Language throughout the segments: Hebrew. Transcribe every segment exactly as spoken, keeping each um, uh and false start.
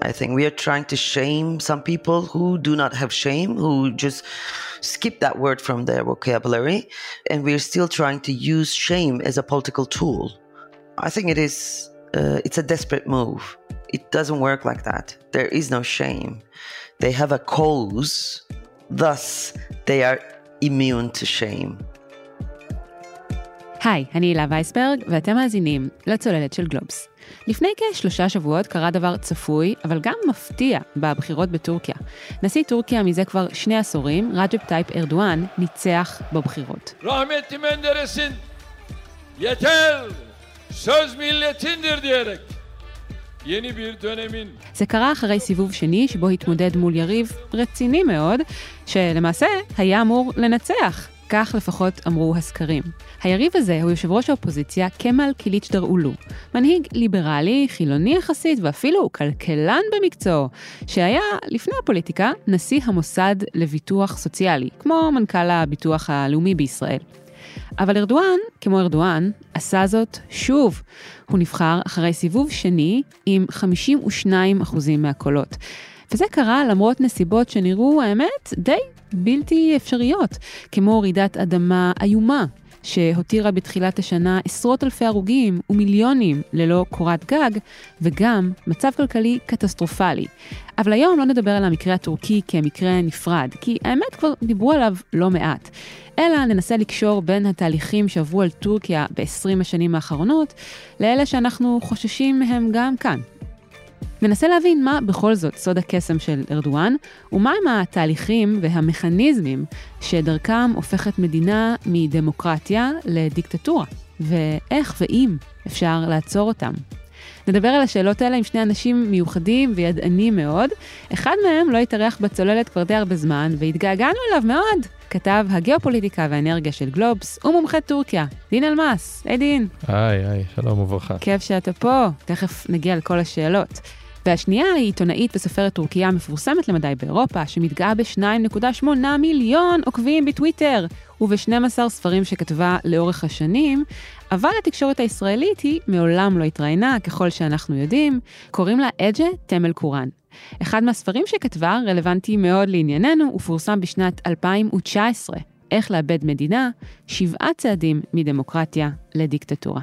I think we are trying to shame some people who do not have shame, who just skip that word from their vocabulary, and we're still trying to use shame as a political tool. I think it is, uh, it's a desperate move. It doesn't work like that. There is no shame. They have a cause, thus they are immune to shame. היי, אני הילה וייסברג, ואתם מאזינים לצוללת של גלובס. לפני כשלושה שבועות קרה דבר צפוי, אבל גם מפתיע בבחירות בטורקיה. נשיא טורקיה מזה כבר שני עשורים, רג'פ טייפ ארדואן, ניצח בבחירות. Rahmetli Menderes'in yeter, söz milletindir diyerek yeni bir dönemin. זה קרה אחרי סיבוב שני שבו התמודד מול יריב רציני מאוד, שלמעשה היה אמור לנצח. כך לפחות אמרו הסקרים. היריב הזה הוא יושב ראש האופוזיציה כמאל קליצ'דארוגלו, מנהיג ליברלי, חילוני יחסית ואפילו כלכלן במקצוע, שהיה לפני הפוליטיקה נשיא המוסד לביטוח סוציאלי, כמו מנכ"ל הביטוח הלאומי בישראל. אבל ארדואן, כמו ארדואן, עשה זאת שוב. הוא נבחר אחרי סיבוב שני עם חמישים ושניים אחוזים מהקולות. וזה קרה למרות נסיבות שנראו, האמת, די בלתי אפשריות, כמו רעידת אדמה איומה, שהותירה בתחילת השנה עשרות אלפי הרוגים ומיליונים ללא קורת גג, וגם מצב כלכלי קטסטרופלי. אבל היום לא נדבר על המקרה הטורקי כמקרה נפרד, כי האמת כבר דיברו עליו לא מעט. אלא ננסה לקשור בין התהליכים שעברו על טורקיה ב-עשרים השנים האחרונות, לאלה שאנחנו חוששים מהם גם כאן. ננסה להבין מה בכל זאת סוד הקסם של ארדואן, ומהם התהליכים והמכניזמים שדרכם הופכת מדינה מדמוקרטיה לדיקטטורה, ואיך ואם אפשר לעצור אותם. נדבר על השאלות האלה עם שני אנשים מיוחדים וידענים מאוד. אחד מהם לא התארח בצוללת כבר די הרבה זמן, והתגעגענו אליו מאוד. כתב הגיאופוליטיקה והאנרגיה של גלובס ומומחה טורקיה, דין אלמאס. היי דין. היי, היי, שלום וברכה. כיף שאתה פה, תכף נגיע לכל השאלות. והשנייה היא עיתונאית וסופרת טורקיה מפורסמת למדי באירופה, שמתגאה ב-שתיים נקודה שמונה מיליון עוקבים בטוויטר, וב-שנים עשר ספרים שכתבה לאורך השנים, אבל התקשורת הישראלית היא מעולם לא התראיינה, ככל שאנחנו יודעים, קוראים לה אג'ה תמל קורן. אחד מהספרים שכתבה רלוונטי מאוד לענייננו, ופורסם בשנת אלפיים תשע עשרה, איך לאבד מדינה, שבעה צעדים מדמוקרטיה לדיקטטורה.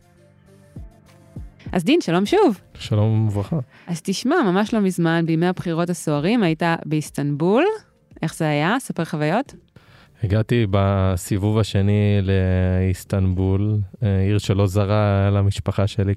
אז דין, שלום שוב. שלום וברכה. אז תשמע, ממש לא מזמן, בימי הבחירות הסוערים, היית באיסטנבול. איך זה היה? ספר חוויות. הגעתי בסיבוב השני לאיסטנבול, עיר שלא זרה למשפחה שלי.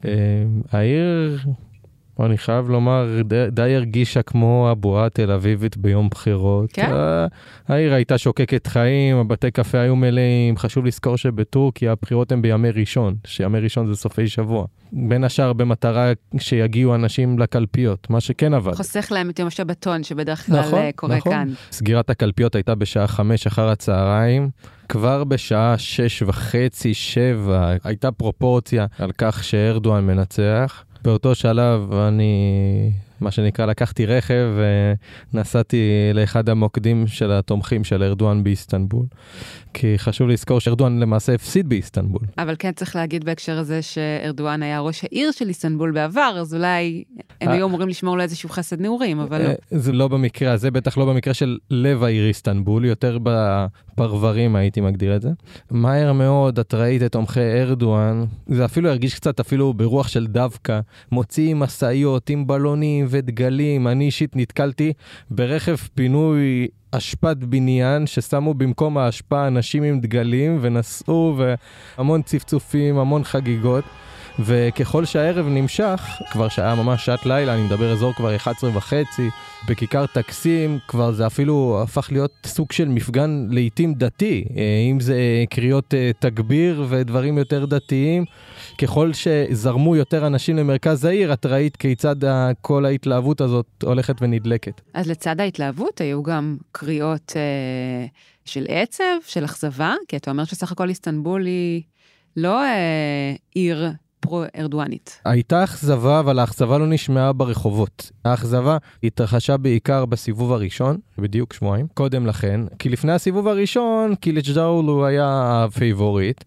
העיר, אני חייב לומר, די, די הרגישה כמו הבועה תל אביבית ביום בחירות. כן? העיר הייתה שוקקת חיים, הבתי קפה היו מלאים. חשוב לזכור שבטורקיה הבחירות הן בימי ראשון, שימי ראשון זה סופי שבוע. בין השאר במטרה שיגיעו אנשים לקלפיות, מה שכן עבד. חוסך להם את יום השבתון שבדרך כלל נכון, קורה נכון. כאן. סגירת הקלפיות הייתה בשעה חמש אחר הצהריים, כבר בשעה שש וחצי, שבע, הייתה פרופורציה על כך שארדואן מנצח. באותו שלב אני, מה שנקרא, לקחתי רכב ונסעתי לאחד המוקדים של התומכים של ארדואן באיסטנבול. כי חשוב לזכור שארדואן למעשה הפסיד באיסטנבול. אבל כן צריך להגיד בהקשר הזה שארדואן היה ראש העיר של איסטנבול בעבר, אז אולי הם היו אמורים לשמור לו איזשהו חסד נעורים, אבל לא. זה לא במקרה הזה, בטח לא במקרה של לב העיר איסטנבול, יותר בפרברים הייתי מגדיר את זה. מהר מאוד, את ראית את תומכי ארדואן, זה אפילו הרגיש קצת אפילו ברוח של דווקא, מוציאים מסעיות עם בלונים ודגלים. אני אישית נתקלתי ברכב פינוי אשפת בניין ששמו במקום האשפה אנשים עם דגלים ונסעו, והמון צפצופים, המון חגיגות. וככל שהערב נמשך, כבר שעה ממש שעת לילה, אני מדבר אזור כבר אחת עשרה וחצי, בכיכר טקסים, כבר זה אפילו הפך להיות סוג של מפגן לעתים דתי, אם זה קריאות תגביר ודברים יותר דתיים. ככל שזרמו יותר אנשים למרכז העיר, את ראית כיצד כל ההתלהבות הזאת הולכת ונדלקת. אז לצד ההתלהבות היו גם קריאות אה, של עצב, של אכזבה, כי אתה אומר שסך הכל איסטנבול היא לא אה, עיר פרו-ארדואנית. הייתה אכזבה, אבל האכזבה לא נשמעה ברחובות. האכזבה התרחשה בעיקר בסיבוב הראשון, בדיוק שבועיים, קודם לכן, כי לפני הסיבוב הראשון, קליצ'דארוגלו היה הפייבוריט,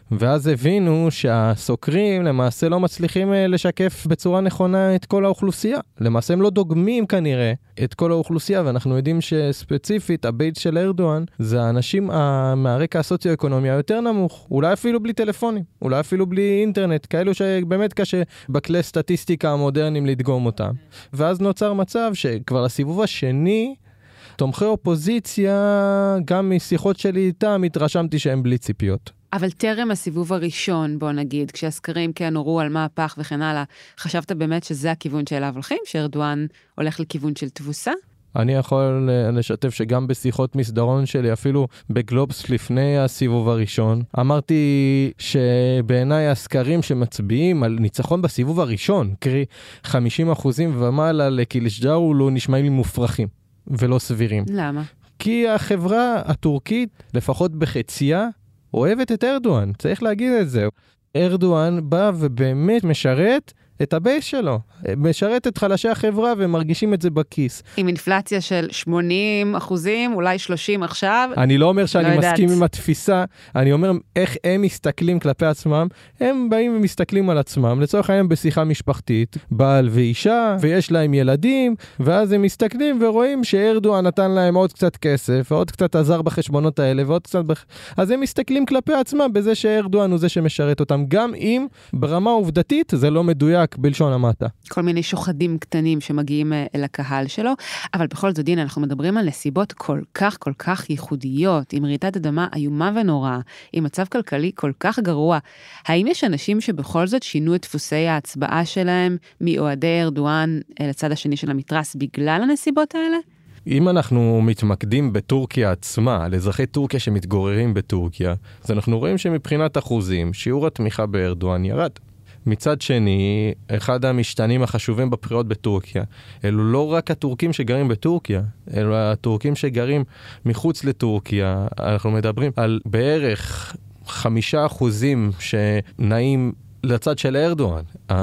ואז הבינו שהסוקרים למעשה לא מצליחים לשקף בצורה נכונה את כל האוכלוסייה. למעשה הם לא דוגמים כנראה את כל האוכלוסייה, ואנחנו יודעים שספציפית הבייס של ארדואן זה האנשים מהרקע הסוציו-אקונומי היותר נמוך, אולי אפילו בלי טלפונים, אולי אפילו בלי אינטרנט, כאלו שבאמת קשה בכלי סטטיסטיקה המודרניים לדגום אותם. ואז נוצר מצב שכבר לסיבוב השני, תומכי אופוזיציה, גם משיחות שלי איתם, התרשמתי שהם בלי ציפיות. אבל טרם הסיבוב הראשון, בוא נגיד, כשהסקרים כן הורו על מהפך וכן הלאה, חשבת באמת שזה הכיוון שאליו הולכים, שארדואן הולך לכיוון של תבוסה? אני יכול לשתף שגם בשיחות מסדרון שלי, אפילו בגלובס לפני הסיבוב הראשון, אמרתי שבעיניי הסקרים שמצביעים על ניצחון בסיבוב הראשון, קרי חמישים אחוזים ומעלה לקיליצ'דארו, לא נשמעים לי מופרכים ולא סבירים. למה? כי החברה הטורקית, לפחות בחציה, אוהבת את ארדואן, צריך להגיד את זה. ארדואן בא ובאמת משרת את הבייס שלו, משרת את חלשי החברה ומרגישים את זה בכיס. עם אינפלציה של שמונים אחוזים, אולי שלושים עכשיו. אני לא אומר שאני לא מסכים יודעת. עם התפיסה, אני אומר איך הם מסתכלים כלפי עצמם, הם באים ומסתכלים על עצמם, לצורך העניין בשיחה משפחתית, בעל ואישה, ויש להם ילדים, ואז הם מסתכלים ורואים שארדואן נתן להם עוד קצת כסף, ועוד קצת עזר בחשבונות האלה, ועוד קצת בח... אז הם מסתכלים כלפי עצמם בזה שארדואן הוא זה שמשרת אותם, גם אם ברמה עובדתית זה לא מדויק. בלשון המעטה. כל מיני שוחדים קטנים שמגיעים אל הקהל שלו, אבל בכל זאת דין, אנחנו מדברים על נסיבות כל כך כל כך ייחודיות, עם רעידת אדמה איומה ונוראה, עם מצב כלכלי כל כך גרוע. האם יש אנשים שבכל זאת שינו את דפוסי ההצבעה שלהם מאוהדי ארדואן לצד השני של המתרס בגלל הנסיבות האלה? אם אנחנו מתמקדים בטורקיה עצמה, על אזרחי טורקיה שמתגוררים בטורקיה, אז אנחנו רואים שמבחינת אחוזים, שיעור התמיכה בארדואן ירד. מצד שני, אחד המשתנים החשובים בבחירות בטורקיה, אלו לא רק הטורקים שגרים בטורקיה, אלו הטורקים שגרים מחוץ לטורקיה. אנחנו מדברים על בערך חמישה אחוזים שנעים לצד של ארדואן.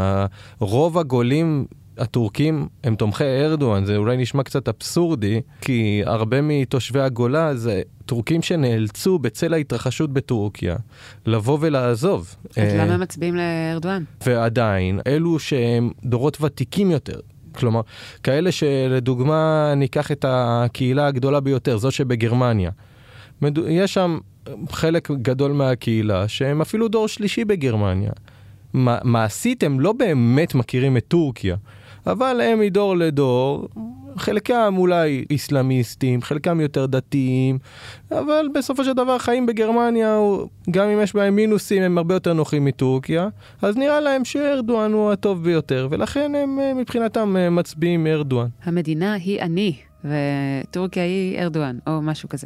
רוב הגולים הטורקים הם תומכי ארדואן, זה אולי נשמע קצת אבסורדי, כי הרבה מתושבי הגולה זה טורקים שנאלצו בצל ההתרחשות בטורקיה לבוא ולעזוב. אז למה מצביעים לארדואן? ועדיין, אלו שהם דורות ותיקים יותר, כלומר, כאלה שלדוגמה ניקח את הקהילה הגדולה ביותר, זו שבגרמניה. יש שם חלק גדול מהקהילה שהם אפילו דור שלישי בגרמניה. מעשית הם לא באמת מכירים את טורקיה, אבל הם מדור לדור, חלקם אולי איסלאמיסטים, חלקם יותר דתיים, אבל בסופו של דבר חיים בגרמניה, גם אם יש בהם מינוסים, הם הרבה יותר נוחים מטורקיה, אז נראה להם שארדואן הוא הטוב ביותר, ולכן הם מבחינתם מצביעים ארדואן. המדינה היא אני, וטורקיה היא ארדואן, או משהו כזה.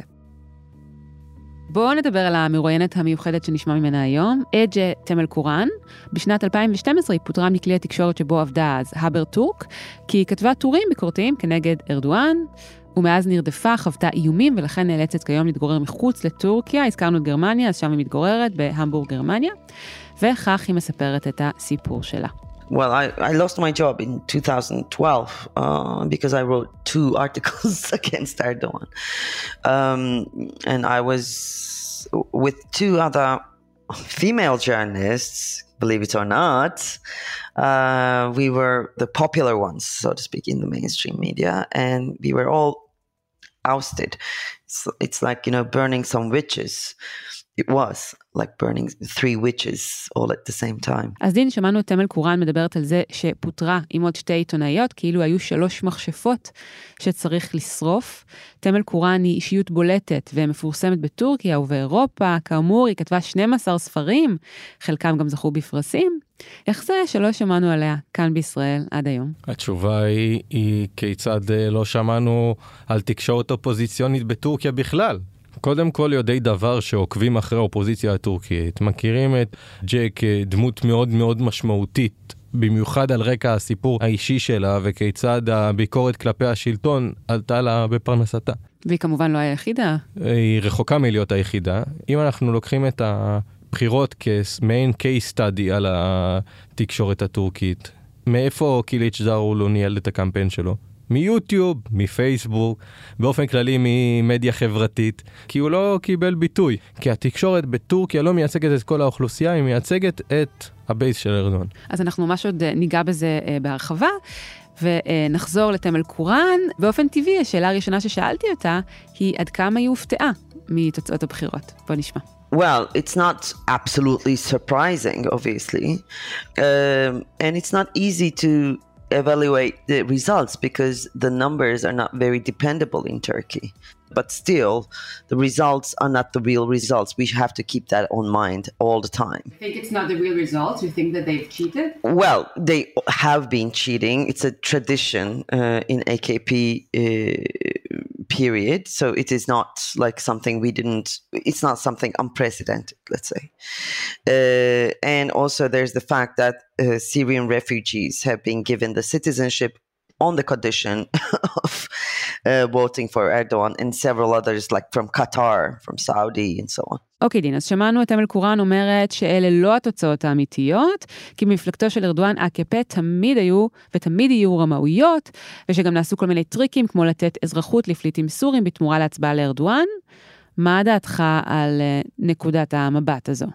בואו נדבר על המרואיינת המיוחדת שנשמע ממנה היום, אג'ה תמל קורן. בשנת אלפיים ושתים עשרה היא פוטרה מכלי התקשורת שבו עבדה אז הבר טורק, כי היא כתבה טורים ביקורתיים כנגד ארדואן, ומאז נרדפה, חוותה איומים, ולכן נאלצת כיום להתגורר מחוץ לטורקיה. הזכרנו את גרמניה, אז שם היא מתגוררת בהמבורג, גרמניה, וכך היא מספרת את הסיפור שלה. Well, I, I lost my job in two thousand twelve uh, because I wrote two articles against Erdogan. Um, and I was with two other female journalists, believe it or not. Uh, we were the popular ones, so to speak, in the mainstream media, and we were all ousted. It's, it's like, you know, burning some witches. It was like burning three witches all at the same time. אז דין, שמענו את תמל קורן מדברת על זה שפוטרה עם עוד שתי עיתונאיות, כאילו היו שלוש מכשפות שצריך לשרוף. תמל קורן היא אישיות בולטת ומפורסמת בטורקיה ובאירופה. כאמור, היא כתבה שנים עשר ספרים, חלקם גם זכו בפרסים. איך זה שלא שמענו עליה כאן בישראל עד היום? התשובה היא, היא כיצד לא שמענו על תקשורת אופוזיציונית בטורקיה בכלל. קודם כל יודעי דבר שעוקבים אחרי האופוזיציה הטורקית, מכירים את ג'ק דמות מאוד מאוד משמעותית, במיוחד על רקע הסיפור האישי שלה וכיצד הביקורת כלפי השלטון עלתה לה בפרנסתה. והיא כמובן לא היחידה. היא רחוקה מלהיות היחידה. אם אנחנו לוקחים את הבחירות כמעין case study על התקשורת הטורקית, מאיפה קיליצ'דארו לא ניהל את הקמפיין שלו? מיוטיוב, מפייסבוק, באופן כללי ממדיה חברתית, כי הוא לא קיבל ביטוי. כי התקשורת בטורקיה לא מייצגת את כל האוכלוסייה, היא מייצגת את הבייס של ארדואן. אז אנחנו ממש עוד ניגע בזה בהרחבה, ונחזור לתמל קוראן. באופן טבעי, השאלה הראשונה ששאלתי אותה, היא עד כמה היא הופתעה מתוצאות הבחירות. בוא נשמע. Well, it's not absolutely surprising, obviously, um, and it's not easy to evaluate the results because the numbers are not very dependable in Turkey. But still, the results are not the real results. We have to keep that on mind all the time. You think it's not the real results? You think that they've cheated? Well, they have been cheating. It's a tradition uh, in A K P uh, period. So it is not like something we didn't, it's not something unprecedented, let's say. Uh, and also there's the fact that uh, Syrian refugees have been given the citizenship on the condition of uh, voting for Erdogan, and several others like from Qatar, from Saudi and so on. אוקיי, דין, אז שמענו את תמל קוראן אומרת שאלה לא התוצאות האמיתיות, כי מפלגתו של ארדואן A K P תמיד היו ותמיד יהיו רמאויות, ושגם נעשו כל מיני טריקים כמו לתת אזרחות לפליטים סורים בתמורה להצבעה לארדואן. מה דעתך על נקודת המבט הזו?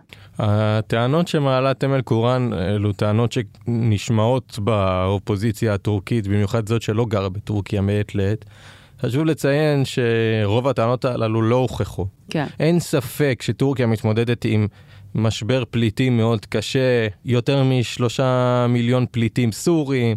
הטענות שמעלה תמל קוראן אלו טענות שנשמעות באופוזיציה הטורקית, במיוחד זאת שלא גרה בטורקיה מעת לעת. חשוב לציין שרוב הטענות הללו לא הוכחו. כן. אין ספק שטורקיה מתמודדת עם משבר פליטים מאוד קשה, יותר משלושה מיליון פליטים סורים.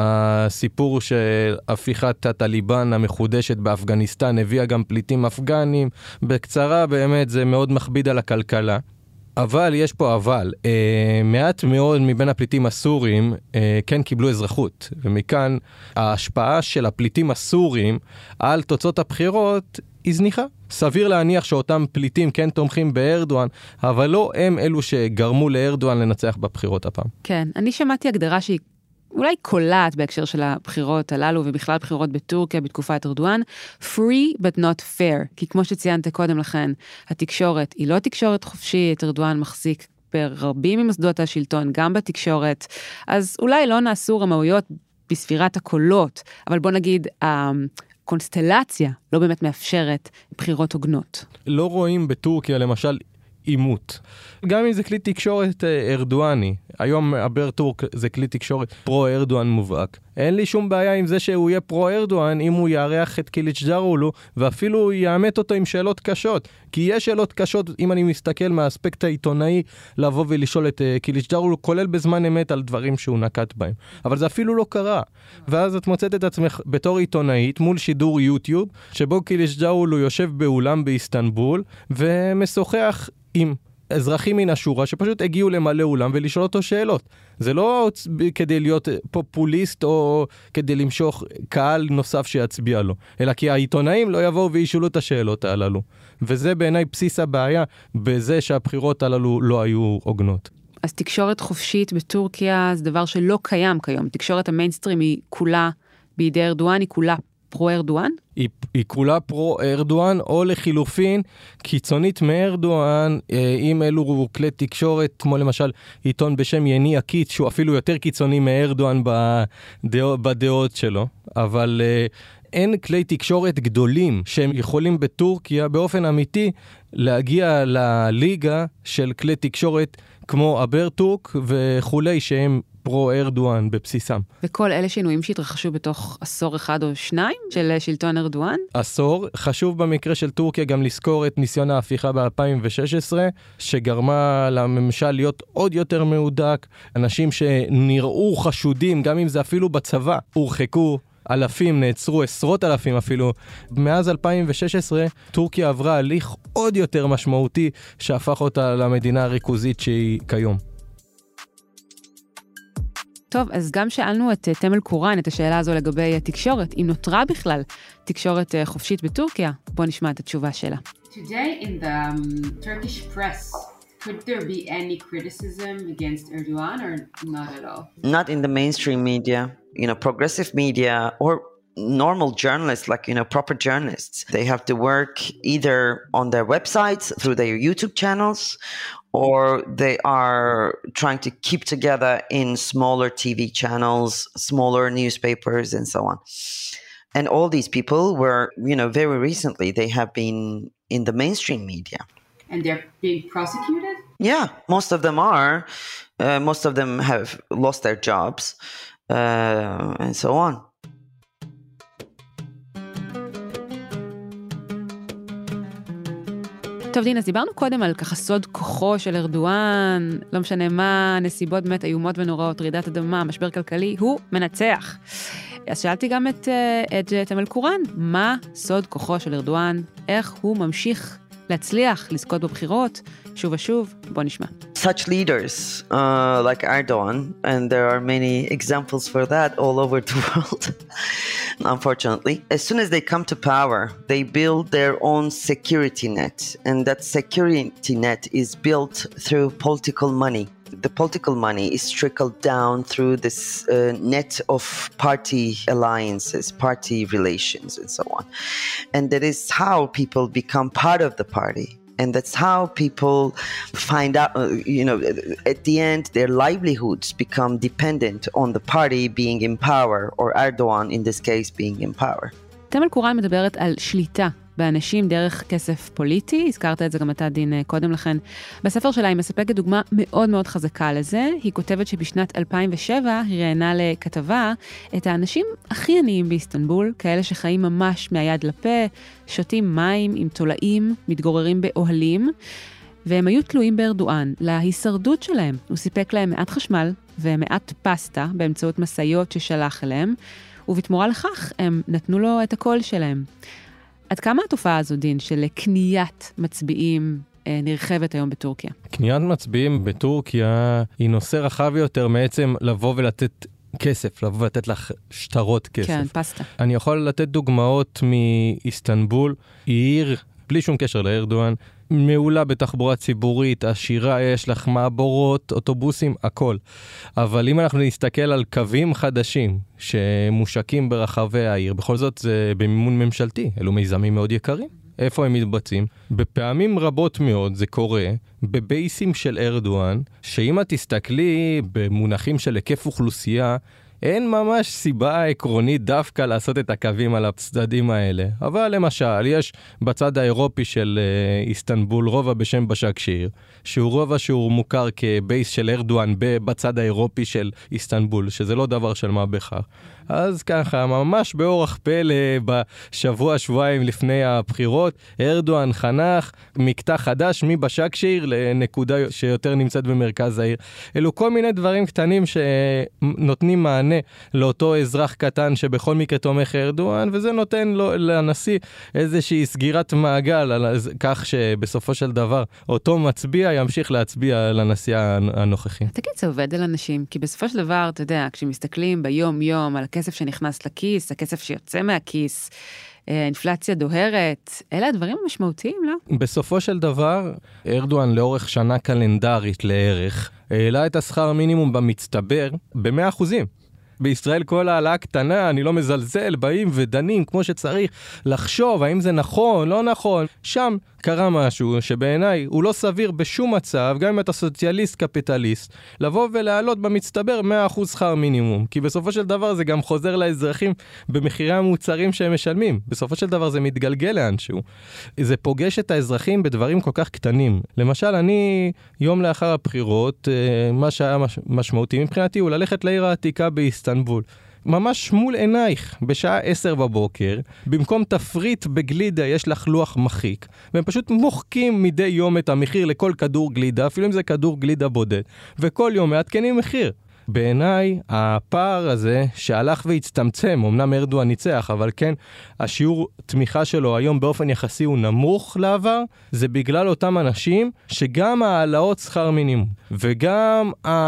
הסיפור של הפיכת הטליבן המחודשת באפגניסטן הביאה גם פליטים אפגנים. בקצרה, באמת זה מאוד מכביד על הכלכלה. אבל יש פה אבל, אה, מעט מאוד מבין הפליטים הסורים אה, כן קיבלו אזרחות, ומכאן ההשפעה של הפליטים הסורים על תוצאות הבחירות היא זניחה. סביר להניח שאותם פליטים כן תומכים בארדואן, אבל לא הם אלו שגרמו לארדואן לנצח בבחירות הפעם. כן, אני שמעתי הגדרה שהיא אולי קולעת בהקשר של הבחירות הללו, ובכלל בחירות בטורקיה בתקופת ארדואן, free but not fair, כי כמו שציינת קודם לכן, התקשורת היא לא תקשורת חופשית, ארדואן מחזיק ברבים ממוסדות השלטון, גם בתקשורת, אז אולי לא נעשו רמאויות בספירת הקולות, אבל בוא נגיד, הקונסטלציה לא באמת מאפשרת בחירות הוגנות. לא רואים בטורקיה למשל עימות. גם אם זה כלי תקשורת ארדואני, היום הברטורק זה כלי תקשורת פרו-ארדואן מובהק. אין לי שום בעיה עם זה שהוא יהיה פרו-ארדואן אם הוא יארח את קיליצ'דארוגלו, ואפילו הוא יאמת אותו עם שאלות קשות. כי יש שאלות קשות, אם אני מסתכל מהאספקט העיתונאי, לבוא ולשאול את קיליצ'דארוגלו, כולל בזמן אמת על דברים שהוא נקט בהם. אבל זה אפילו לא קרה. ואז את מוצאת את עצמך בתור עיתונאית מול שידור יוטיוב, שבו קיליצ'דארוגלו יושב באולם באיסטנבול, ומשוחח עם אזרחים מן השורה שפשוט הגיעו למלא אולם ולשאול אותו שאלות. זה לא כדי להיות פופוליסט או כדי למשוך קהל נוסף שיצביע לו, אלא כי העיתונאים לא יבואו וישאלו את השאלות הללו. וזה בעיניי בסיס הבעיה בזה שהבחירות הללו לא היו הוגנות. אז תקשורת חופשית בטורקיה זה דבר שלא קיים כיום. תקשורת המיינסטרים היא כולה בידי ארדואן, היא כולה פרו-ארדואן? היא, היא כולה פרו-ארדואן, או לחילופין, קיצונית מארדואן, אם אלו כלי תקשורת, כמו למשל עיתון בשם יני הקיץ, שהוא אפילו יותר קיצוני מארדואן בדעות, בדעות שלו, אבל אין כלי תקשורת גדולים שהם יכולים בטורקיה באופן אמיתי להגיע לליגה של כלי תקשורת כמו אברטורק וכולי שהם פרו-ארדואן בבסיסם. וכל אלה שינויים שהתרחשו בתוך עשור אחד או שניים של שלטון ארדואן? עשור. חשוב במקרה של טורקיה גם לזכור את ניסיון ההפיכה ב-אלפיים ושש עשרה, שגרמה לממשל להיות עוד יותר מהודק. אנשים שנראו חשודים, גם אם זה אפילו בצבא, הורחקו. אלפים, נעצרו עשרות אלפים אפילו. מאז אלפיים ושש עשרה, טורקיה עברה הליך עוד יותר משמעותי, שהפך אותה למדינה הריכוזית שהיא כיום. טוב, אז גם שאלנו את תמל קוראן את השאלה הזו לגבי התקשורת, אם נותרה בכלל תקשורת חופשית בטורקיה. בוא נשמע את התשובה שלה. Today in the um, Turkish press, could there be any criticism against Erdogan or not at all? Not in the mainstream media. You know, progressive media or normal journalists, like, you know, proper journalists. They have to work either on their websites, through their YouTube channels, or they are trying to keep together in smaller T V channels, smaller newspapers, and so on. And all these people were, you know, very recently, they have been in the mainstream media. And they're being prosecuted? Yeah, most of them are. Uh, most of them have lost their jobs, uh, and so on. טוב דין, אז דיברנו קודם על ככה סוד כוחו של ארדואן, לא משנה מה, נסיבות באמת איומות ונוראות, רעידת אדמה, משבר כלכלי, הוא מנצח. אז שאלתי גם את, את תמל קורן, מה סוד כוחו של ארדואן, איך הוא ממשיך להצליח, לזכות בבחירות, שוב ושוב, בוא נשמע. Such leaders uh, like Erdogan, and there are many examples for that all over the world, unfortunately. As soon as they come to power, they build their own security net, and that security net is built through political money. The political money is trickled down through this uh, net of party alliances, party relations, and so on. And that is how people become part of the party. And that's how people find out, uh, you know, at the end, their livelihoods become dependent on the party being in power, or Erdogan, in this case, being in power. תמל קורן מדברת על שליטה באנשים דרך כסף פוליטי, הזכרת את זה גם אתה דין קודם לכן. בספר שלה היא מספקת דוגמה מאוד מאוד חזקה לזה, היא כותבת שבשנת אלפיים ושבע היא ראיינה לכתבה את האנשים הכי עניים באיסטנבול, כאלה שחיים ממש מהיד לפה, שותים מים עם תולעים, מתגוררים באוהלים, והם היו תלויים בארדואן להישרדות שלהם. הוא סיפק להם מעט חשמל ומעט פסטה באמצעות מסעיות ששלח אליהם, ובתמורה לכך הם נתנו לו את הקול שלהם. עד כמה התופעה הזו, דין, של קניית מצביעים אה, נרחבת היום בטורקיה? קניית מצביעים בטורקיה היא נושא רחב יותר מעצם לבוא ולתת כסף, לבוא ולתת לך שטרות כסף. כן, פסטה. אני יכול לתת דוגמאות מאיסטנבול, היא עיר, בלי שום קשר לארדואן, מעולה בתחבורה ציבורית, עשירה, יש לך מעבורות, אוטובוסים, הכל. אבל אם אנחנו נסתכל על קווים חדשים שמושקים ברחבי העיר, בכל זאת זה במימון ממשלתי, אלו מיזמים מאוד יקרים. איפה הם מתבצעים? בפעמים רבות מאוד זה קורה בבייסים של ארדואן, שאם את תסתכלי במונחים של היקף אוכלוסייה, אין ממש סיבה עקרונית דווקא לעשות את הקווים על הצדדים האלה. אבל למשל, יש בצד האירופי של uh, איסטנבול רובע בשם בשקשיר, שהוא רובע שהוא מוכר כבייס של ארדואן בצד האירופי של איסטנבול, שזה לא דבר של מה בכך. אז ככה, ממש באורח פלא, בשבוע, שבועיים לפני הבחירות, ארדואן חנך מקטע חדש מבשקשיר לנקודה שיותר נמצאת במרכז העיר. אלו כל מיני דברים קטנים שנותנים מענה לאותו אזרח קטן שבכל מקרה תומך ארדואן, וזה נותן לו, לנשיא איזושהי סגירת מעגל, על כך שבסופו של דבר אותו מצביע ימשיך להצביע לנשיא הנוכחי. תגיד, זה עובד על אנשים, כי בסופו של דבר, אתה יודע, כשמסתכלים ביום יום על הכסף שנכנס לכיס, הכסף שיוצא מהכיס, אינפלציה דוהרת, אלה הדברים המשמעותיים, לא? בסופו של דבר, ארדואן לאורך שנה קלנדרית לערך, העלה את השכר מינימום במצטבר ב-מאה אחוזים. בישראל כל העלה קטנה, אני לא מזלזל, באים ודנים כמו שצריך לחשוב האם זה נכון, לא נכון. שם קרה משהו שבעיניי הוא לא סביר בשום מצב, גם אם אתה סוציאליסט קפיטליסט, לבוא ולהעלות במצטבר מאה אחוז שכר מינימום. כי בסופו של דבר זה גם חוזר לאזרחים במחירי המוצרים שהם משלמים. בסופו של דבר זה מתגלגל לאנשהו. זה פוגש את האזרחים בדברים כל כך קטנים. למשל, אני יום לאחר הבחירות, מה שהיה משמעותי מבחינתי הוא ללכת לעיר העתיקה באיסטנבול. ממש מול עינייך, בשעה עשר בבוקר, במקום תפריט בגלידה יש לך לוח מחיק, והם פשוט מוחקים מדי יום את המחיר לכל כדור גלידה, אפילו אם זה כדור גלידה בודד, וכל יום מעדכנים מחיר. בעיניי, הפער הזה שהלך והצטמצם, אמנם ארדואן ניצח, אבל כן, השיעור תמיכה שלו היום באופן יחסי הוא נמוך לעבר, זה בגלל אותם אנשים שגם העלאות שכר מינימום, וגם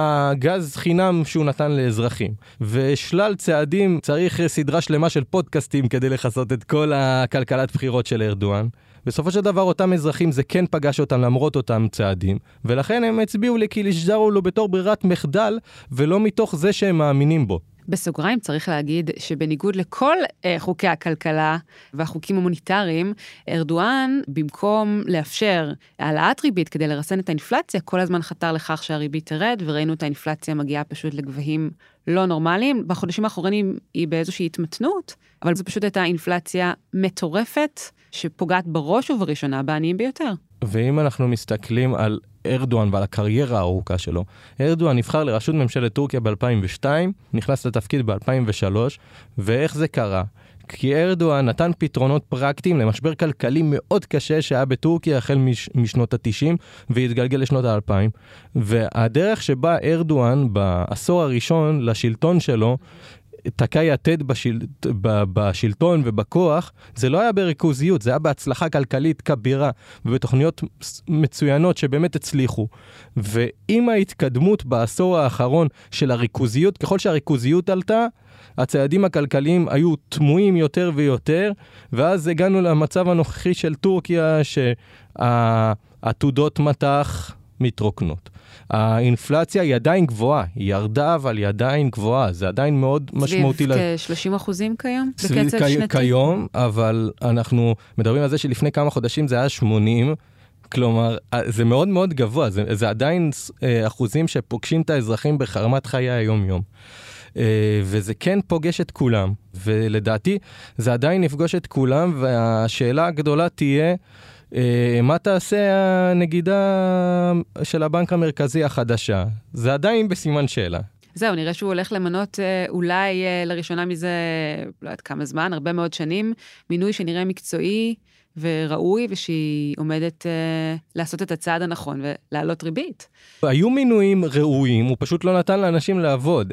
הגז חינם שהוא נתן לאזרחים, ושלל צעדים, צריך סדרה שלמה של פודקאסטים כדי לחסות את כל הכלכלת בחירות של ארדואן. בסופו של דבר אותם אזרחים זה כן פגש אותם למרות אותם צעדים, ולכן הם הצביעו לי כי לשזרו לו בתור ברירת מחדל, ולא מתוך זה שהם מאמינים בו. בסוגריים צריך להגיד שבניגוד לכל אה, חוקי הכלכלה והחוקים המוניטריים, ארדואן, במקום לאפשר העלאת ריבית כדי לרסן את האינפלציה, כל הזמן חתר לכך שהריבית תרד, וראינו את האינפלציה מגיעה פשוט לגבהים לא נורמליים. בחודשים האחרונים היא באיזושהי התמתנות, אבל זו פשוט הייתה אינפלציה מטורפת, שפוגעת בראש ובראשונה בעניים ביותר. ואם אנחנו מסתכלים על ארדואן ועל הקריירה הארוכה שלו, ארדואן נבחר לראשות ממשלת טורקיה ב-אלפיים ושתיים, נכנס לתפקיד ב-אלפיים ושלוש, ואיך זה קרה? כי ארדואן נתן פתרונות פרקטיים למשבר כלכלי מאוד קשה שהיה בטורקיה החל מש, משנות ה-תשעים והתגלגל לשנות ה-אלפיים, והדרך שבה ארדואן בעשור הראשון לשלטון שלו, תקע יתד בשל... בשלטון ובכוח, זה לא היה בריכוזיות, זה היה בהצלחה כלכלית כבירה, ובתוכניות מצוינות שבאמת הצליחו. ועם ההתקדמות בעשור האחרון של הריכוזיות, ככל שהריכוזיות עלתה, הצעדים הכלכליים היו תמוהים יותר ויותר, ואז הגענו למצב הנוכחי של טורקיה, שהעתודות מטח מתרוקנות. האינפלציה היא עדיין גבוהה, היא ירדה, אבל היא עדיין גבוהה, זה עדיין מאוד משמעותי. סביב כ-שלושים אחוזים כיום? בקצב שנתי? כיום, אבל אנחנו מדברים על זה שלפני כמה חודשים זה היה שמונים, כלומר, זה מאוד מאוד גבוה, זה, זה עדיין אחוזים שפוגשים את האזרחים בחרמת חיי היום-יום. וזה כן פוגש את כולם, ולדעתי זה עדיין נפגוש את כולם, והשאלה הגדולה תהיה, מה תעשה הנגידה של הבנק המרכזי החדשה? זה עדיין בסימן שאלה. זהו, נראה שהוא הולך למנות אולי לראשונה מזה, לא יודעת כמה זמן, הרבה מאוד שנים, מינוי שנראה מקצועי וראוי, ושהיא עומדת לעשות את הצעד הנכון ולהעלות ריבית. היו מינויים ראויים, הוא פשוט לא נתן לאנשים לעבוד.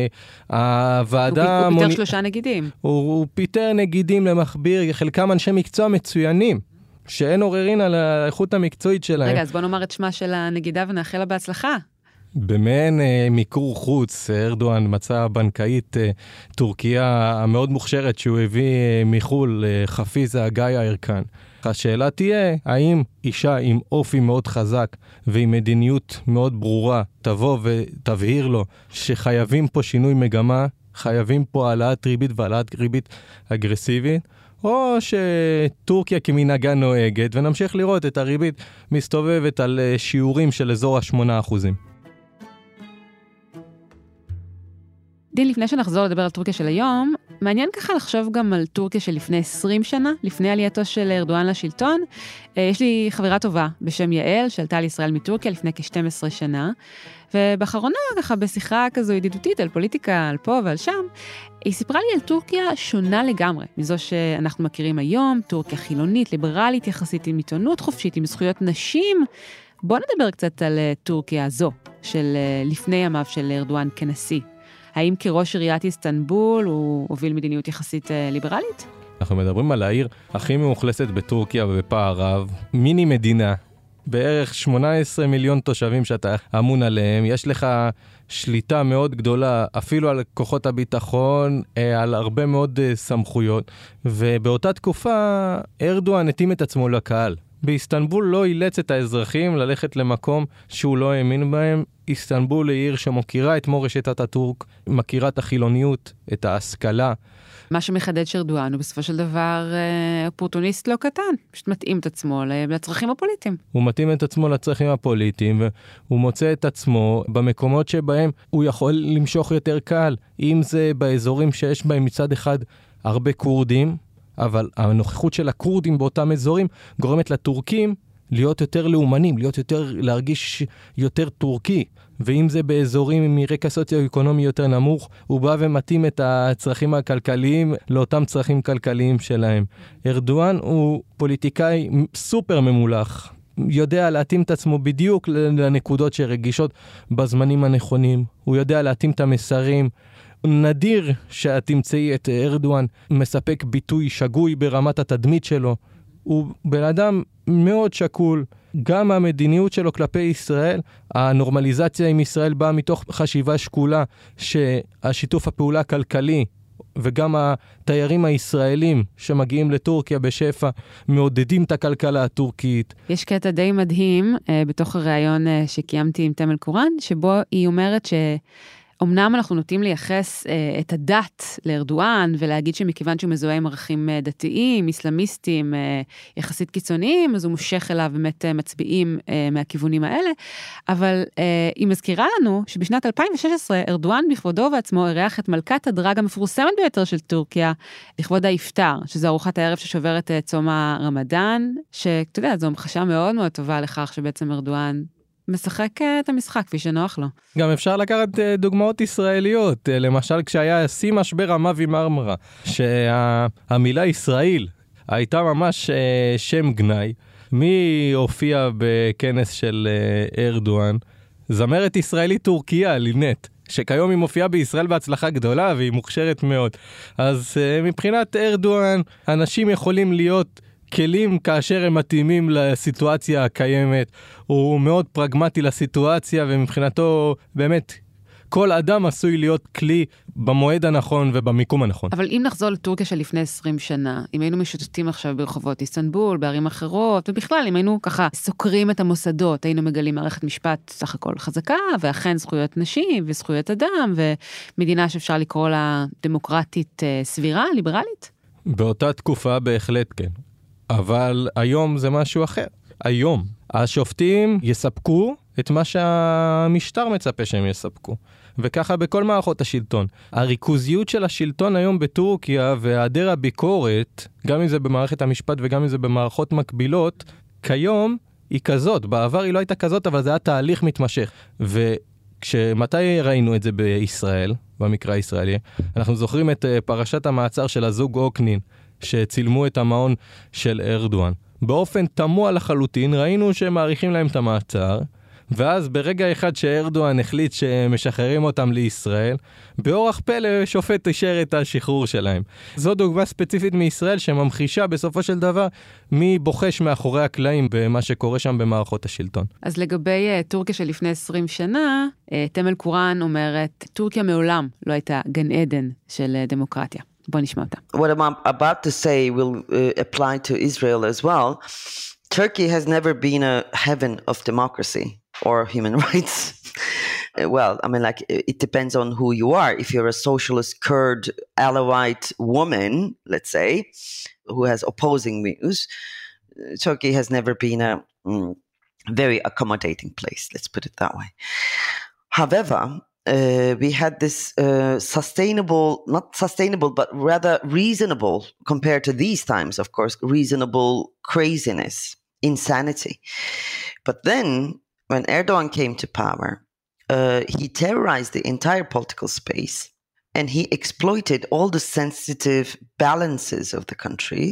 הוועדה... הוא פיתר שלושה נגידים. הוא פיתר נגידים למכביר, חלקם אנשי מקצוע מצוינים. שאין עוררין על האיכות המקצועית שלהם. רגע, אז בוא נאמר את שמה של הנגידה ונאחל לה בהצלחה. במעין אה, מיקור חוץ, ארדואן מצא בנקאית אה, טורקיה המאוד מוכשרת שהוא הביא אה, מחול, אה, חפיזה גאיה ארקן. השאלה תהיה, האם אישה עם אופי מאוד חזק ועם מדיניות מאוד ברורה תבוא ותבהיר לו שחייבים פה שינוי מגמה, חייבים פה העלאת ריבית והעלאת ריבית אגרסיבית, או שטורקיה כמנהגה נוהגת, ונמשיך לראות את הריבית מסתובבת על שיעורים של אזור ה-שמונה אחוזים. דין, לפני שנחזור לדבר על טורקיה של היום, מעניין ככה לחשוב גם על טורקיה של לפני עשרים שנה, לפני עלייתו של ארדואן לשלטון. יש לי חברה טובה בשם יעל, שעלתה לישראל מטורקיה לפני כ-שתים עשרה שנה, ובאחרונה, ככה בשיחה כזו ידידותית על פוליטיקה, על פה ועל שם, היא סיפרה לי על טורקיה שונה לגמרי, מזו שאנחנו מכירים היום, טורקיה חילונית, ליברלית, יחסית עם עיתונות חופשית, עם זכויות נשים. בוא נדבר קצת על טורקיה הזו, של לפני ימיו של ארדואן כנשיא. האם כראש עיריית איסטנבול הוא הוביל מדיניות יחסית ליברלית? אנחנו מדברים על העיר הכי מאוכלסת בטורקיה ובפער רב, מיני מדינה, בערך שמונה עשרה מיליון תושבים שאתה אמון עליהם, יש לך שליטה מאוד גדולה אפילו על כוחות הביטחון, על הרבה מאוד סמכויות, ובאותה תקופה ארדואן התאים את עצמו לקהל. באיסטנבול לא אילץ את האזרחים ללכת למקום שהוא לא האמין בהם. איסטנבול היא עיר שמוכירה את מורשת אטאטורק, מכירה את החילוניות, את ההשכלה. מה שמחדד שארדואן הוא בסופו של דבר אופורטוניסט לא קטן, פשוט מתאים את עצמו לצרכים הפוליטיים. הוא מתאים את עצמו לצרכים הפוליטיים, והוא מוצא את עצמו במקומות שבהם הוא יכול למשוך יותר קהל, אם זה באזורים שיש בהם מצד אחד הרבה קורדים, אבל הנוכחות של הקורדים באותם אזורים גורמת לטורקים להיות יותר לאומנים, להיות יותר, להרגיש יותר טורקי. ואם זה באזורים מרקע סוציו-אקונומי יותר נמוך, הוא בא ומתאים את הצרכים הכלכליים לאותם צרכים כלכליים שלהם. ארדואן הוא פוליטיקאי סופר ממולח, יודע להתאים את עצמו בדיוק לנקודות שרגישות בזמנים הנכונים. הוא יודע להתאים את המסרים. נדיר שאת תמצאי את ארדואן מספק ביטוי שגוי ברמת התדמית שלו. הוא בן אדם מאוד שקול, גם המדיניות שלו כלפי ישראל, הנורמליזציה עם ישראל באה מתוך חשיבה שקולה, שהשיתוף הפעולה הכלכלי, וגם התיירים הישראלים שמגיעים לטורקיה בשפע, מעודדים את הכלכלה הטורקית. יש קטע די מדהים, בתוך הראיון שקיימתי עם תמל קורן, שבו היא אומרת ש... אמנם אנחנו נוטים לייחס אה, את הדת לארדואן, ולהגיד שמכיוון שהוא מזוהה עם ערכים אה, דתיים, איסלאמיסטים, אה, יחסית קיצוניים, אז הוא מושך אליו באמת אה, מצביעים אה, מהכיוונים האלה, אבל אה, היא מזכירה לנו שבשנת אלפיים ושש עשרה, ארדואן בכבודו ועצמו אירח את מלכת הדרג המפורסמת ביותר של טורקיה, לכבוד האפטר, שזו ארוחת הערב ששוברת את צום הרמדאן, שאתה יודע, זו המחשה מאוד מאוד טובה לכך שבעצם ארדואן משחק את המשחק כפי שנוח לו. גם אפשר לקחת דוגמאות ישראליות, למשל כשהיה שיא משבר המאבי מרמרה, שהמילה ישראל הייתה ממש שם גנאי. מי הופיע בכנס של ארדואן? זמרת ישראלית טורקיה, לינט, שכיום היא מופיעה בישראל בהצלחה גדולה והיא מוכשרת מאוד. אז מבחינת ארדואן, אנשים יכולים להיות כלים כאשר הם מתאימים לסיטואציה הקיימת. הוא מאוד פרגמטי לסיטואציה, ומבחינתו באמת כל אדם עשוי להיות כלי במועד הנכון ובמיקום הנכון. אבל אם נחזור לטורקיה של לפני עשרים שנה, אם היינו משוטטים עכשיו ברחובות איסטנבול, בערים אחרות, ובכלל אם היינו ככה סוקרים את המוסדות, היינו מגלים מערכת משפט סך הכל חזקה, ואכן זכויות נשים וזכויות אדם, ומדינה שאפשר לקרוא לה דמוקרטית סבירה, ליברלית? באותה תקופה בהחלט כן. אבל היום זה משהו אחר. היום השופטים יספקו את מה שהמשטר מצפה שהם יספקו. וככה בכל מערכות השלטון. הריכוזיות של השלטון היום בטורקיה והיעדר הביקורת, גם אם זה במערכת המשפט וגם אם זה במערכות מקבילות, כיום היא כזאת. בעבר היא לא הייתה כזאת, אבל זה היה תהליך מתמשך. וכשמתי ראינו את זה בישראל, במקרה הישראלי, אנחנו זוכרים את פרשת המעצר של הזוג אוקנין, שצילמו את המעון של ארדואן. באופן תמוה לחלוטין, ראינו שהם מעריכים להם את המעצר, ואז ברגע אחד שארדואן החליט שמשחררים אותם לישראל, באורח פלא שופט אישר את השחרור שלהם. זו דוגמה ספציפית מישראל שממחישה בסופו של דבר מי בוחש מאחורי הקלעים במה שקורה שם במערכות השלטון. אז לגבי uh, טורקיה של לפני עשרים שנה, uh, תמל קוראן אומרת, טורקיה מעולם לא הייתה גן עדן של uh, דמוקרטיה. בוא נשמע אותה. What I'm about to say will uh, apply to Israel as well. Turkey has never been a heaven of democracy or human rights. Well, I mean, like, it depends on who you are. If you're a socialist Kurd Alawite woman, let's say, who has opposing views, Turkey has never been a mm, very accommodating place, let's put it that way. However, Uh, we had this uh, sustainable, not sustainable, but rather reasonable, compared to these times, of course, reasonable craziness, insanity. But then, when Erdogan came to power, uh, he terrorized the entire political space, and he exploited all the sensitive balances of the country,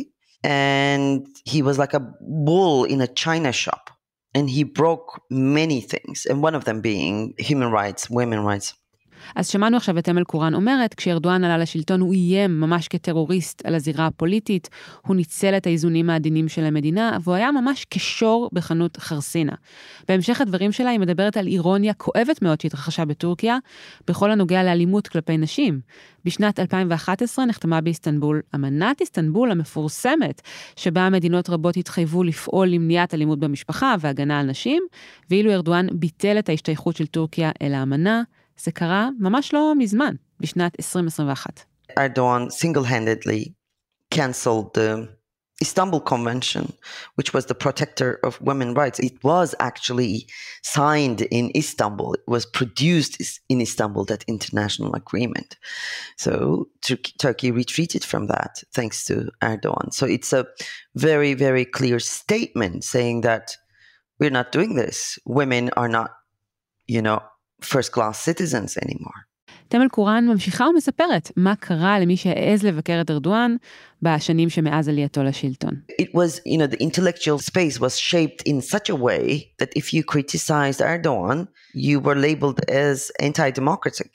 and he was like a bull in a china shop. And he broke many things, and one of them being human rights, women's rights. אז שמענו עכשיו את תמל קוראן אומרת, כשארדואן עלה לשלטון הוא איים ממש כטרוריסט על הזירה הפוליטית, הוא ניצל את האיזונים העדינים של המדינה, והוא היה ממש כשור בחנות חרסינה. בהמשך הדברים שלה היא מדברת על אירוניה כואבת מאוד שהתרחשה בטורקיה, בכל הנוגע לאלימות כלפי נשים. בשנת אלפיים ואחת עשרה נחתמה באיסטנבול אמנת איסטנבול המפורסמת, שבה מדינות רבות התחייבו לפעול למניעת אלימות במשפחה והגנה על נשים, ואילו ארדואן ביטל את ההשתייכות של טורקיה אל האמנה, זה קרה ממש לא מזמן, בשנת עשרים עשרים ואחת. Erdogan single-handedly canceled the Istanbul Convention, which was the protector of women's rights. It was actually signed in Istanbul. It was produced in Istanbul, that international agreement. So Tur- Turkey retreated from that thanks to Erdogan. So it's a very, very clear statement saying that we're not doing this. Women are not, you know, first-class citizens anymore. תמל קוראן ממשיכה ומספרת מה קרה למי שהעז לבקר את ארדואן בשנים שמאז עלייתו לשלטון. It was, you know, the intellectual space was shaped in such a way that if you criticized Erdogan, you were labeled as anti-democratic.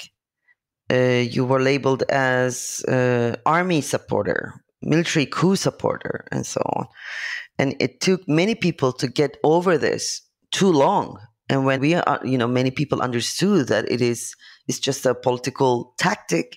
Uh, you were labeled as uh, army supporter, military coup supporter, and so on. And it took many people to get over this too long. And when we are, you know, many people understood that it is, it's just a political tactic,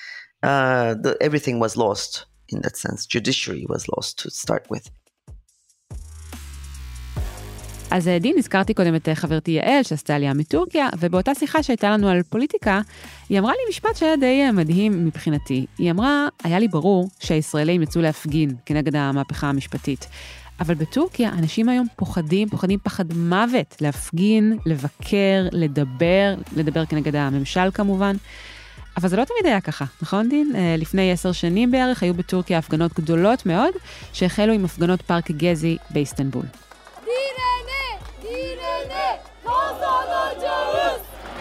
uh, the, everything was lost in that sense. Judiciary was lost to start with. אז דין, הזכרתי קודם את חברתי יעל, שעשתה עלייה מטורקיה, ובאותה שיחה שהייתה לנו על פוליטיקה, היא אמרה לי משפט שהיה די מדהים מבחינתי. היא אמרה, היה לי ברור שהישראלים יצאו להפגין כנגד המהפכה המשפטית. אבל בטורקיה אנשים היום פוחדים, פוחדים פחד מוות, להפגין, לבקר, לדבר, לדבר כנגד הממשל כמובן. אבל זה לא תמיד היה ככה, נכון דין? לפני עשר שנים בערך היו בטורקיה הפגנות גדולות מאוד, שהחלו עם הפגנות פארק גזי באיסטנבול. דירנה! דירנה! kazanacağız!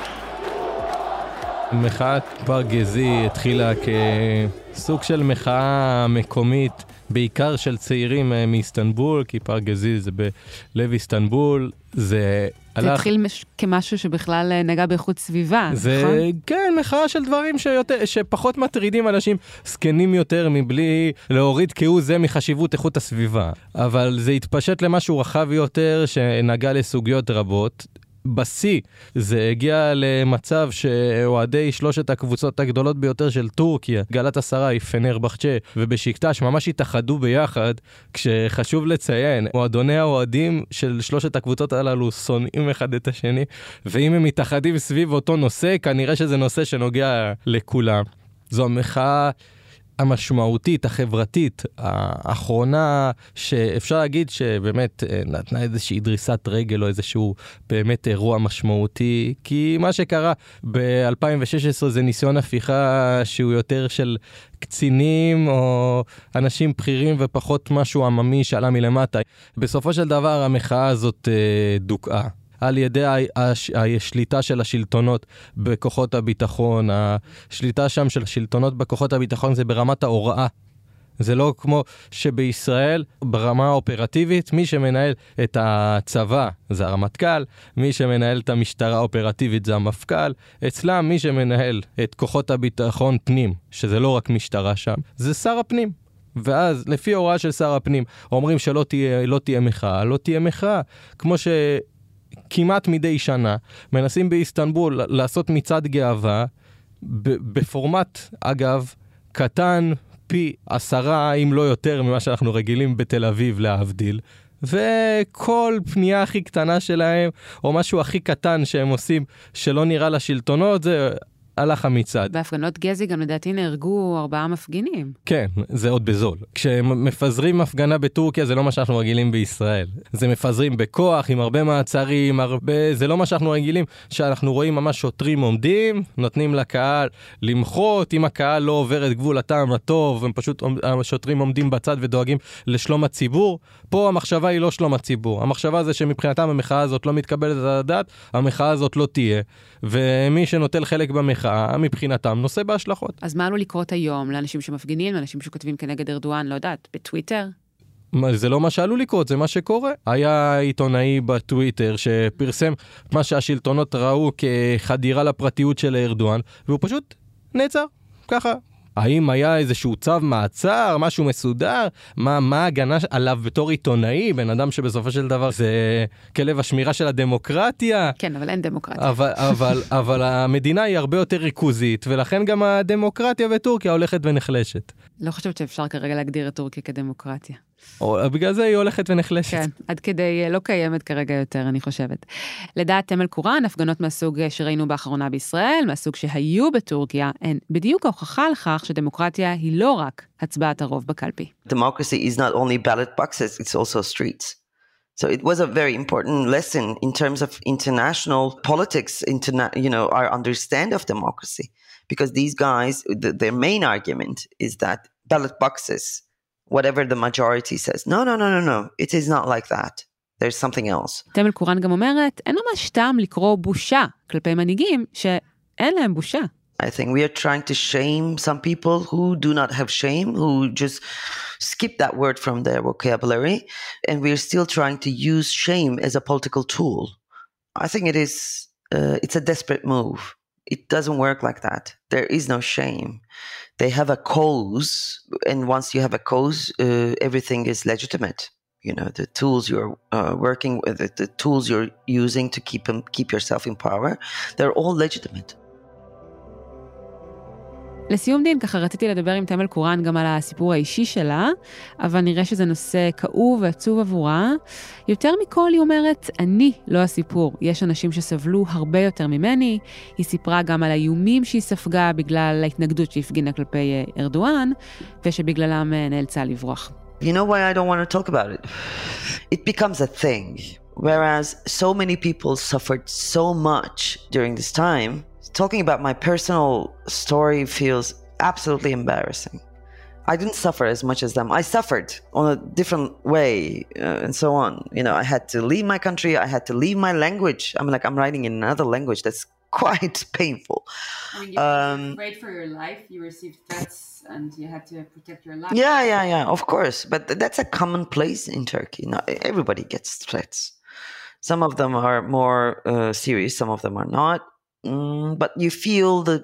מחאת פארק גזי התחילה כסוג של מחאה מקומית, בעיקר של צעירים מאיסטנבול, כי פארק גזי זה בלב איסטנבול, זה הלך... זה התחיל מש... כמשהו שבכלל נגע באיכות סביבה, זה, נכון? כן, מחאה של דברים שיותר, שפחות מטרידים אנשים סקנים יותר מבלי להוריד כהוא זה מחשיבות איכות הסביבה. אבל זה התפשט למשהו רחב יותר שנגע לסוגיות רבות. בסי זה הגיע למצב שאוהדי שלושת הקבוצות הגדולות ביותר של טורקיה, גלאטסראי, פנרבחצ'ה ובשיקטש, ממש התאחדו ביחד, כשחשוב לציין, מועדוני האוהדים של שלושת הקבוצות הללו שונאים אחד את השני, ואם הם מתאחדים סביב אותו נושא, כנראה שזה נושא שנוגע לכולם. זו המחאה המשמעותית, החברתית, האחרונה, שאפשר להגיד שבאמת נתנה איזושהי דריסת רגל או איזשהו באמת אירוע משמעותי, כי מה שקרה ב-אלפיים ושש עשרה זה ניסיון הפיכה שהוא יותר של קצינים או אנשים בכירים ופחות משהו עממי שעלה מלמטה. בסופו של דבר המחאה הזאת דוקאה. על ידי השליטה של השלטונות בכוחות הביטחון, השליטה שם של השלטונות בכוחות הביטחון זה ברמת ההוראה. זה לא כמו שבישראל, ברמה האופרטיבית, מי שמנהל את הצבא זה הרמטכ"ל, מי שמנהל את המשטרה האופרטיבית זה המפכ"ל, אצלם מי שמנהל את כוחות הביטחון פנים, שזה לא רק משטרה שם, זה שר הפנים. ואז לפי הוראה של שר הפנים, אומרים שלא תהיה, לא תהיה מחאה, לא תהיה מחאה, כמו ש... כמעט מדי שנה, מנסים באיסטנבול לעשות מצעד גאווה, בפורמט, אגב, קטן פי עשרה, אם לא יותר, ממה שאנחנו רגילים בתל אביב להבדיל, וכל פנייה הכי קטנה שלהם, או משהו הכי קטן שהם עושים, שלא נראה לשלטונות, זה... הלך המצעד. בהפגנות גזי גם לדעתי נהרגו ארבעה מפגינים. כן, זה עוד בזול. כשמפזרים הפגנה בטורקיה זה לא מה שאנחנו רגילים בישראל. זה מפזרים בכוח, עם הרבה מעצרים, הרבה... זה לא מה שאנחנו רגילים, שאנחנו רואים ממש שוטרים עומדים, נותנים לקהל למחות, אם הקהל לא עובר את גבול הטעם הטוב, הם פשוט, השוטרים עומדים בצד ודואגים לשלום הציבור. פה המחשבה היא לא שלום הציבור. המחשבה זה שמבחינתם המחאה הזאת לא מתקבלת על הדעת, המחאה הזאת לא תהיה. ומי שנוטל חלק במחאה, מבחינתם נושא בהשלכות. אז מה עלול לקרות היום לאנשים שמפגינים, לאנשים שכותבים כנגד ארדואן, לא יודעת, בטוויטר? זה לא מה שעלול לקרות, זה מה שקורה. היה עיתונאי בטוויטר שפרסם מה שהשלטונות ראו כחדירה לפרטיות של ארדואן, והוא פשוט נעצר, ככה. האם היה איזשהו צו מעצר, משהו מסודר? מה, מה ההגנה עליו בתור עיתונאי? בן אדם שבסופו של דבר זה כלב השמירה של הדמוקרטיה. כן, אבל אין דמוקרטיה. אבל, אבל, אבל המדינה היא הרבה יותר ריכוזית, ולכן גם הדמוקרטיה בטורקיה הולכת ונחלשת. לא חושבת שאפשר כרגע להגדיר את טורקיה כדמוקרטיה. או, בגלל זה היא הולכת ונחלשת. כן, עד כדי לא קיימת כרגע יותר, אני חושבת. לדעת תמל קורן, הפגנות מהסוג שראינו באחרונה בישראל, מהסוג שהיו בטורקיה, הן בדיוק ההוכחה לכך שדמוקרטיה היא לא רק הצבעת הרוב בקלפי. Democracy is not only ballot boxes, it's also streets. So it was a very important lesson in terms of international politics, interna- you know, our understand of democracy. Because these guys, the, their main argument is that ballot boxes, whatever the majority says, no, no, no, no, no, it is not like that. There's something else. תמל קורן גם אומרת, אין ממש טעם לקרוא בושה כלפי מנהיגים שאין להם בושה. I think we are trying to shame some people who do not have shame, who just skip that word from their vocabulary, and we are still trying to use shame as a political tool. I think it is, uh, it's a desperate move. It doesn't work like that. There is no shame. They have a cause, and once you have a cause, uh, everything is legitimate. You know, the tools you're uh, working with, the, the tools you're using to keep them, keep yourself in power, they're all legitimate. לסיום דין, ככה רציתי לדבר עם תמל קורן גם על הסיפור האישי שלה, אבל נראה שזה נושא כאוב ועצוב עבורה. יותר מכל היא אומרת, אני לא הסיפור. יש אנשים שסבלו הרבה יותר ממני. היא סיפרה גם על האיומים שהיא ספגה בגלל ההתנגדות שהפגינה כלפי ארדואן, ושבגללם נאלצה לברוח. You know why I don't want to talk about it? It becomes a thing. Whereas so many people suffered so much during this time, talking about my personal story feels absolutely embarrassing. I didn't suffer as much as them. I suffered on a different way uh, and so on. You know, I had to leave my country. I had to leave my language. I'm like, I'm writing in another language that's quite painful. I mean, you um, were afraid for your life. You received threats and you had to protect your life. Yeah, yeah, yeah, of course. But that's a commonplace in Turkey. Not everybody gets threats. Some of them are more uh, serious. Some of them are not. Mm, but you feel the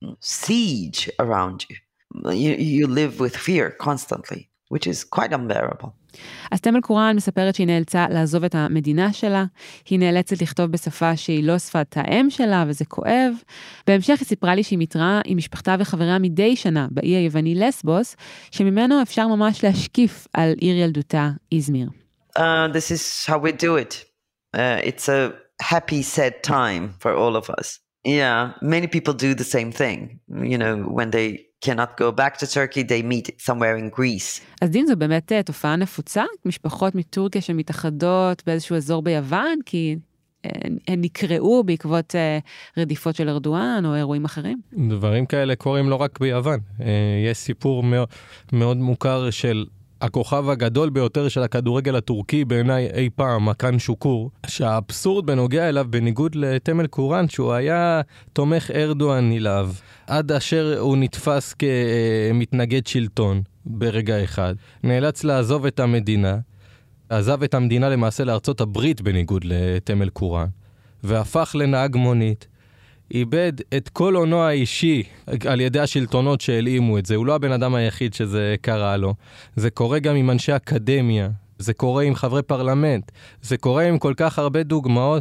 siege around you. you. You live with fear constantly, which is quite unbearable. אז תמל קורן מספרת שהיא נאלצה לעזוב את המדינה שלה, היא נאלצת לכתוב בשפה שהיא לא שפת האם שלה, וזה כואב. בהמשך היא סיפרה לי שהיא מתראה עם משפחתה וחבריה מדי שנה באי היווני לסבוס, שממנו אפשר ממש להשקיף על עיר ילדותה, איזמיר. Uh, this is how we do it. Uh, it's a happy, sad time for all of us. Yeah, many people do the same thing. You know, when they cannot go back to Turkey, they meet somewhere in Greece. אז דין, זו באמת תופעה נפוצה? משפחות מטורקיה שמתאחדות באיזשהו אזור ביוון, כי הן נקראו בעקבות רדיפות של ארדואן או אירועים אחרים? דברים כאלה קורים לא רק ביוון. יש סיפור מאוד, מאוד מוכר של הכוכב הגדול ביותר של הכדורגל הטורקי בעיניי אי פעם, מקן שוקור, שהאבסורד בנוגע אליו בניגוד לתמל קורן, שהוא היה תומך ארדואן נלהב, עד אשר הוא נתפס כמתנגד שלטון ברגע אחד. נאלץ לעזוב את המדינה, עזב את המדינה למעשה לארצות הברית בניגוד לתמל קורן, והפך לנהג מונית. איבד את כל עונו האישי על ידי השלטונות שהלאימו את זה. הוא לא הבן אדם היחיד שזה קרה לו. זה קורה גם עם אנשי אקדמיה, זה קורה עם חברי פרלמנט, זה קורה עם כל כך הרבה דוגמאות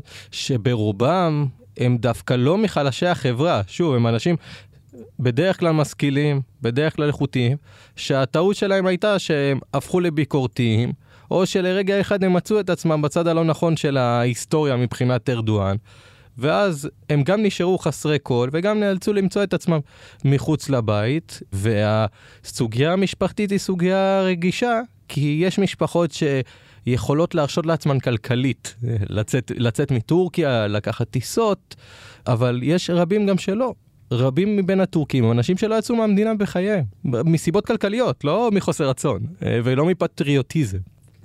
שברובם הם דווקא לא מחלשי החברה. שוב, הם אנשים בדרך כלל משכילים, בדרך כלל איכותיים, שהטעות שלהם הייתה שהם הפכו לביקורתיים, או שלרגע אחד הם מצאו את עצמם בצד הלא נכון של ההיסטוריה מבחינת ארדואן. ואז הם גם נשארו חסרי קול, וגם נאלצו למצוא את עצמם מחוץ לבית, והסוגיה המשפחתית היא סוגיה רגישה, כי יש משפחות שיכולות להרשות לעצמן כלכלית, לצאת, לצאת מטורקיה, לקחת טיסות, אבל יש רבים גם שלא. רבים מבין הטורקים, אנשים שלא יצאו מהמדינה בחייהם, מסיבות כלכליות, לא מחוסר רצון, ולא מפטריוטיזם.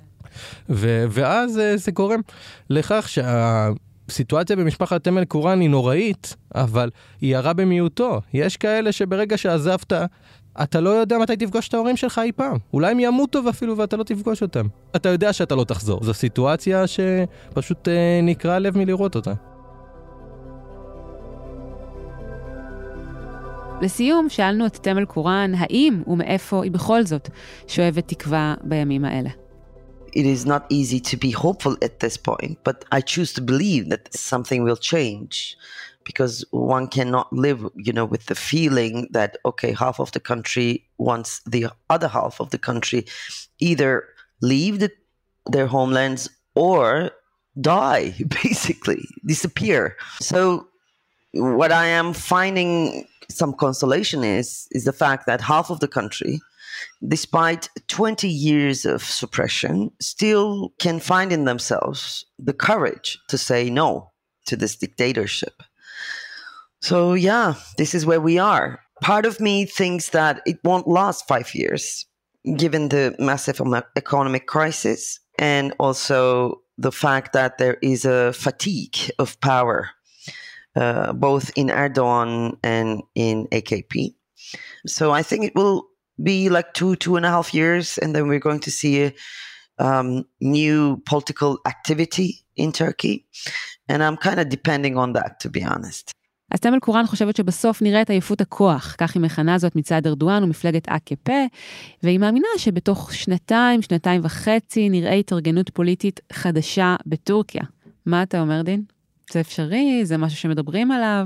ו- ואז זה גורם לכך שה... סיטואציה במשפחת תמל קורן היא נוראית, אבל היא הרע במיעוטו. יש כאלה שברגע שעזבת, אתה לא יודע מתי תפגוש את ההורים שלך אי פעם. אולי הם ימותו ואפילו ואתה לא תפגוש אותם. אתה יודע שאתה לא תחזור. זו סיטואציה שפשוט אה, נקרא לב מלראות אותה. לסיום, שאלנו את תמל קורן, האם ומאיפה היא בכל זאת שואבת תקווה בימים האלה. It is not easy to be hopeful at this point, but I choose to believe that something will change because one cannot live, you know, with the feeling that, okay, half of the country wants the other half of the country either leave the, their homelands or die, basically, disappear. So what I am finding some consolation is, is the fact that half of the country, despite twenty years of suppression, still can find in themselves the courage to say no to this dictatorship. So yeah, this is where we are. Part of me thinks that it won't last five years, given the massive economic crisis and also the fact that there is a fatigue of power, uh, both in Erdogan and in A K P. So I think it will be like two, two and a half years, and then we're going to see a um, new political activity in Turkey. And I'm kind of depending on that, to be honest. אז תמל קורן חושבת שבסוף נראה את עייפות הכוח, כך היא מכנה זאת מצד ארדואן ומפלגת A K P, והיא מאמינה שבתוך שנתיים, שנתיים וחצי, נראה התארגנות פוליטית חדשה בטורקיה. מה אתה אומר, דין? זה אפשרי? זה משהו שמדברים עליו?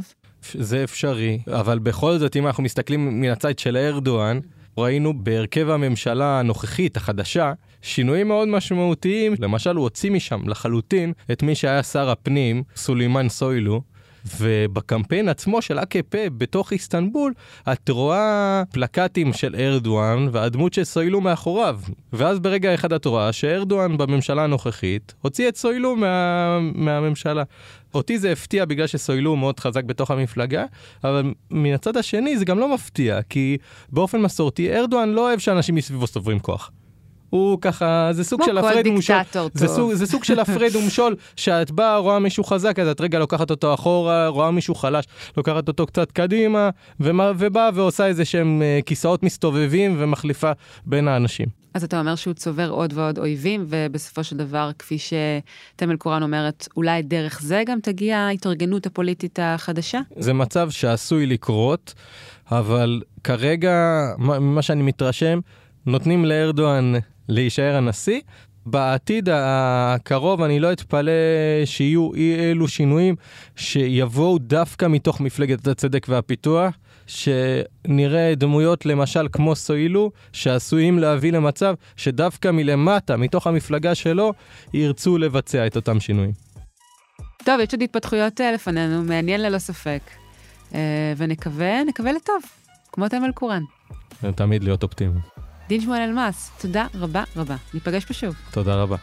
זה אפשרי, אבל בכל זאת, אם אנחנו מסתכלים מן הצד של ארדואן, ראינו בהרכב הממשלה הנוכחית, החדשה, שינויים מאוד משמעותיים. למשל, הוא הוציא משם לחלוטין את מי שהיה שר הפנים, סולימאן סוילו, ובקמפיין עצמו של A K P בתוך איסטנבול, את רואה פלקטים של ארדואן והדמות של סוילו מאחוריו. ואז ברגע אחד את רואה שארדואן בממשלה הנוכחית הוציא את סוילו מה... מהממשלה. אותי זה הפתיע בגלל שסוילו מאוד חזק בתוך המפלגה, אבל מן הצד השני זה גם לא מפתיע, כי באופן מסורתי ארדואן לא אוהב שאנשים מסביבו סוברים כוח. הוא ככה, זה סוג של הפרד ומשול. זה סוג, זה סוג של הפרד ומשול, שאת באה, רואה מישהו חזק, אז את רגע לוקחת אותו אחורה, רואה מישהו חלש, לוקחת אותו קצת קדימה, ומה, ובאה ועושה איזה שהם כיסאות מסתובבים ומחליפה בין האנשים. אז אתה אומר שהוא צובר עוד ועוד אויבים, ובסופו של דבר, כפי שתמל קורן אומרת, אולי דרך זה גם תגיע ההתארגנות הפוליטית החדשה? זה מצב שעשוי לקרות, אבל כרגע, מה שאני מתרשם, נותנים לארדואן להישאר הנשיא. בעתיד הקרוב אני לא אתפלא שיהיו אי אלו שינויים שיבואו דווקא מתוך מפלגת הצדק והפיתוח, שנראה דמויות למשל כמו סוילו, שעשויים להביא למצב שדווקא מלמטה, מתוך המפלגה שלו, ירצו לבצע את אותם שינויים. טוב, יש עוד התפתחויות לפנינו, מעניין ללא ספק. ונקווה, נקווה לטוב, כמו תמל קורן. תמיד להיות אופטימי. דין שמואל אלמאס, תודה רבה רבה. ניפגש פה שוב. תודה רבה.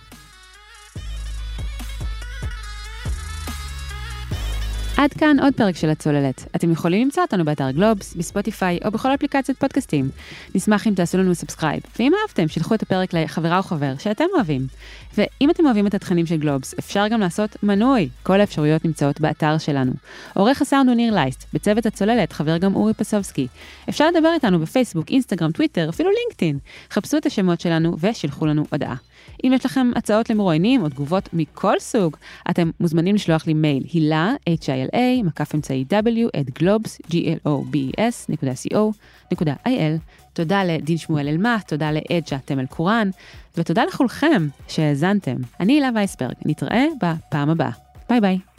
עד כאן עוד פרק של הצוללת. אתם יכולים למצוא אותנו באתר גלובס, בספוטיפיי או בכל אפליקציית פודקאסטים. נשמח אם תעשו לנו סאבסקרייב. ואם אהבתם, שלחו את הפרק לחברה או חבר שאתם אוהבים. ואם אתם אוהבים את התכנים של גלובס, אפשר גם לעשות מנוי. כל האפשרויות נמצאות באתר שלנו. עורך הסאונד הוא ניר לייסט, בצוות הצוללת חבר גם אורי פסובסקי. אפשר לדבר איתנו בפייסבוק, אינסטגרם, טוויטר, אפילו לינקדאין. חפשו את השמות שלנו ושלחו לנו הודעה. אם יש לכם הצעות למרואיינים או תגובות מכל סוג, אתם מוזמנים לשלוח לי מייל, הילה, H I L A, מקף אמצעי W, at globes, G L O B S, נקודה C O, נקודה I L. תודה לדין שמואל אלמאס, תודה לאג'ה תמל קורן, ותודה לכולכם שהאזנתם. אני הילה וייסברג, נתראה בפעם הבאה. ביי ביי.